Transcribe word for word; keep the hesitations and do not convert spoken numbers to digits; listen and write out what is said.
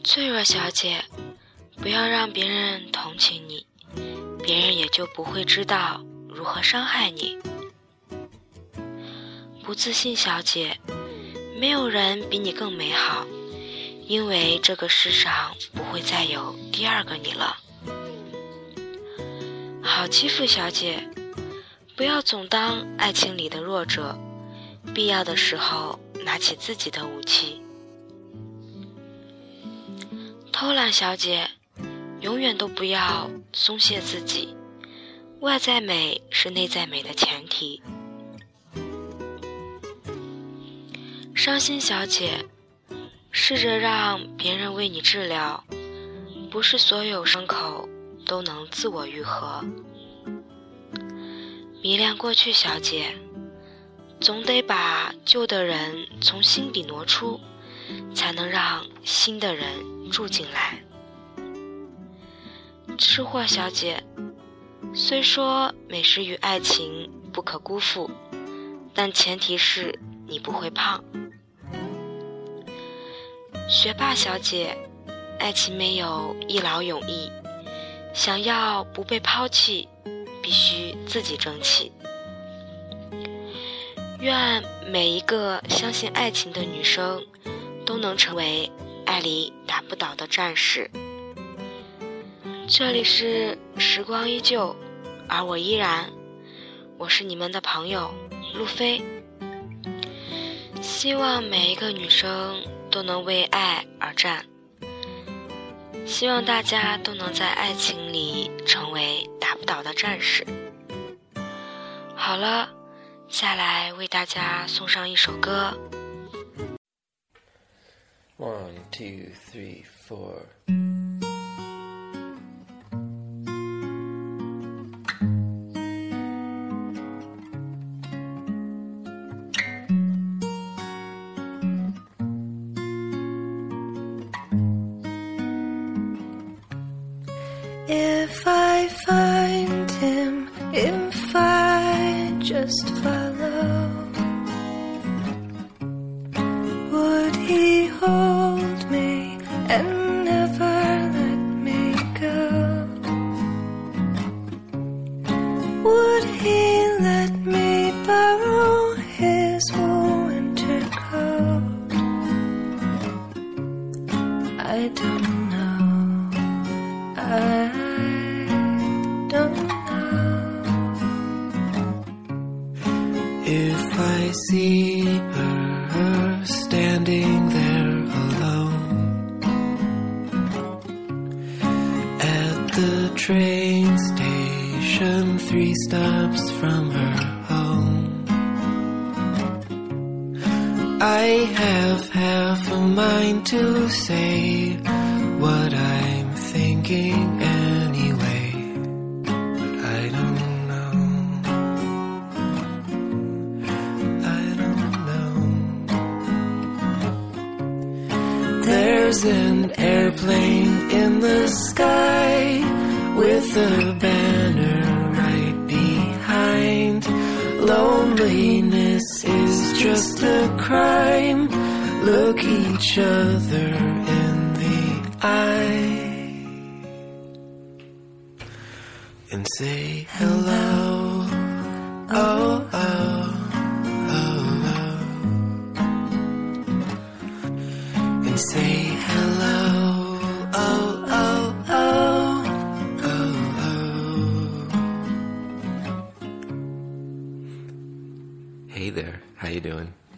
脆弱小姐，不要让别人同情你，别人也就不会知道如何伤害你。不自信小姐，没有人比你更美好，因为这个世上不会再有第二个你了。好欺负小姐，不要总当爱情里的弱者，必要的时候拿起自己的武器。偷懒小姐，永远都不要松懈自己，外在美是内在美的前提。伤心小姐，试着让别人为你治疗，不是所有伤口都能自我愈合。迷恋过去小姐，总得把旧的人从心底挪出，才能让新的人住进来。吃货小姐，虽说美食与爱情不可辜负，但前提是你不会胖。学霸小姐，爱情没有一劳永逸，想要不被抛弃，必须自己争气。愿每一个相信爱情的女生都能成为爱里打不倒的战士。这里是时光依旧，而我依然，我是你们的朋友路飞。希望每一个女生都能为爱而战，希望大家都能在爱情里成为打不倒的战士。好了，下来为大家送上一首歌。 One, two, three, four. If I find him, if I just follow, would he hold me and never let me go? Would he let me borrow his winter coat? I don't know. I don't know. If I see her standing there alone at the train station, three stops from her home, I have half a mind to say what I'm thinking anyway, but I don't know. I don't know. There's an airplane in the sky with a banner right behind. Loneliness is just a crime. Look each other in the eye and say hello. Oh, oh, oh, oh. And say hello. Oh, oh, oh, oh, oh. Hey there, how you doing?